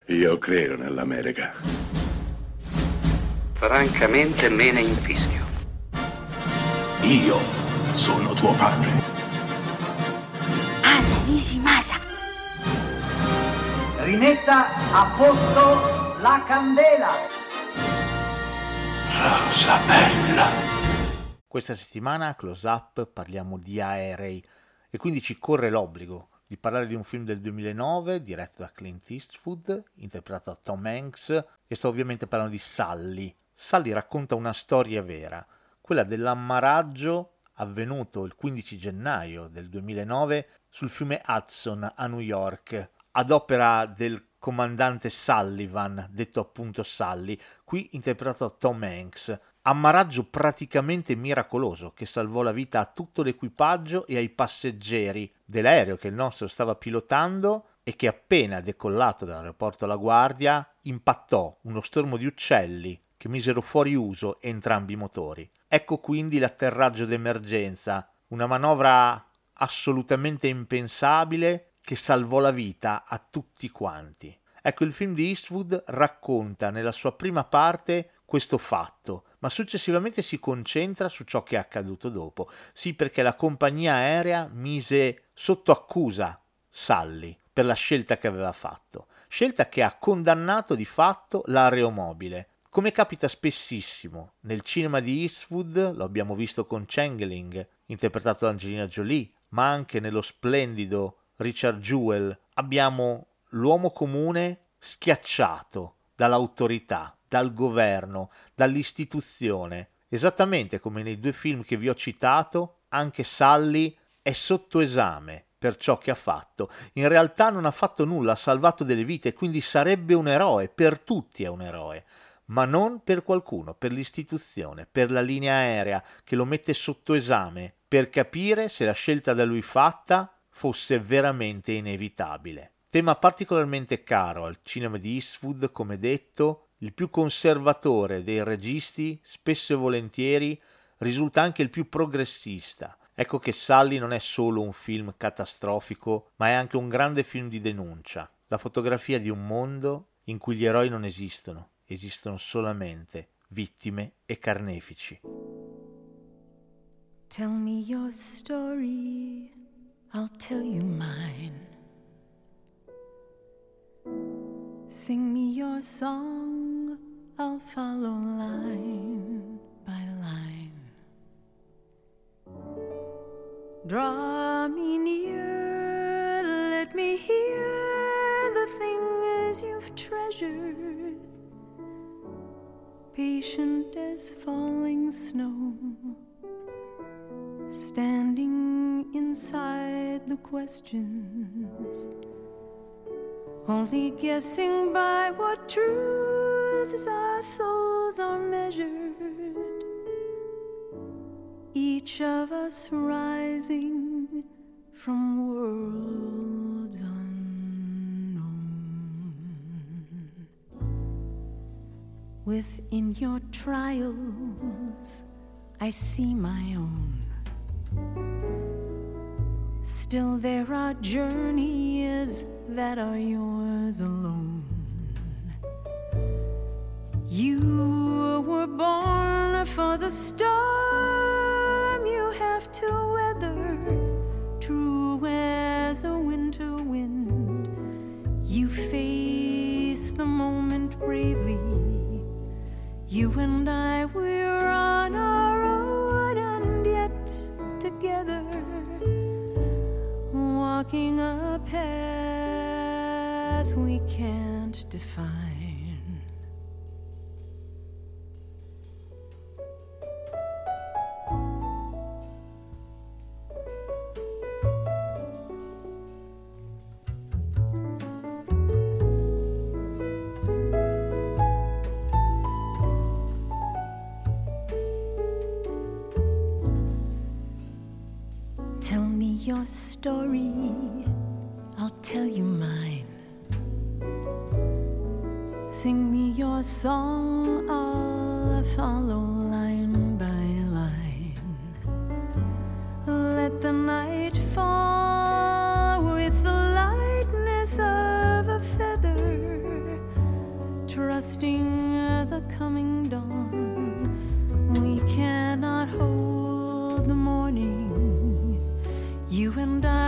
Io credo nell'America. Francamente me ne infischio. Io sono tuo padre. Anna Nishimasa. Rimetta a posto la candela. Rosa bella. Questa settimana a Close Up parliamo di aerei e quindi ci corre l'obbligo di parlare di un film del 2009 diretto da Clint Eastwood, interpretato da Tom Hanks, e sto ovviamente parlando di Sully. Sully racconta una storia vera, quella dell'ammaraggio avvenuto il 15 gennaio del 2009 sul fiume Hudson a New York, ad opera del comandante Sullivan, detto appunto Sully, qui interpretato da Tom Hanks. Ammaraggio praticamente miracoloso che salvò la vita a tutto l'equipaggio e ai passeggeri dell'aereo che il nostro stava pilotando e che appena decollato dall'aeroporto La Guardia impattò uno stormo di uccelli che misero fuori uso entrambi i motori. Ecco quindi l'atterraggio d'emergenza, una manovra assolutamente impensabile che salvò la vita a tutti quanti. Ecco, il film di Eastwood racconta nella sua prima parte questo fatto, ma successivamente si concentra su ciò che è accaduto dopo. Sì, perché la compagnia aerea mise sotto accusa Sully per la scelta che aveva fatto, scelta che ha condannato di fatto l'aeromobile. Come capita spessissimo nel cinema di Eastwood, lo abbiamo visto con Changeling, interpretato da Angelina Jolie, ma anche nello splendido Richard Jewell, abbiamo l'uomo comune schiacciato dall'autorità, dal governo, dall'istituzione. Esattamente come nei due film che vi ho citato, anche Sully è sotto esame per ciò che ha fatto. In realtà non ha fatto nulla, ha salvato delle vite, quindi sarebbe un eroe, per tutti è un eroe, ma non per qualcuno, per l'istituzione, per la linea aerea che lo mette sotto esame per capire se la scelta da lui fatta fosse veramente inevitabile. Tema particolarmente caro al cinema di Eastwood, come detto, il più conservatore dei registi, spesso e volentieri risulta anche il più progressista. Ecco che Sully non è solo un film catastrofico, ma è anche un grande film di denuncia, la fotografia di un mondo in cui gli eroi non esistono, esistono solamente vittime e carnefici. Tell me your story, I'll tell you mine. Sing me your song, I'll follow line by line. Draw me near, let me hear the things you've treasured. Patient as falling snow, standing inside the questions, only guessing by what truths our souls are measured, each of us rising from worlds unknown. Within your trials I see my own. Still there are journeys that are yours alone. You were born for the storm you have to weather, true as a winter wind. You face the moment bravely. You and I, we're on our own, and yet together, walking a path we can't define. Tell me your story, I'll tell you mine. Sing me your song, I'll follow line by line. Let the night fall with the lightness of a feather. trusting the coming dawn. We cannot hold the morning. You and I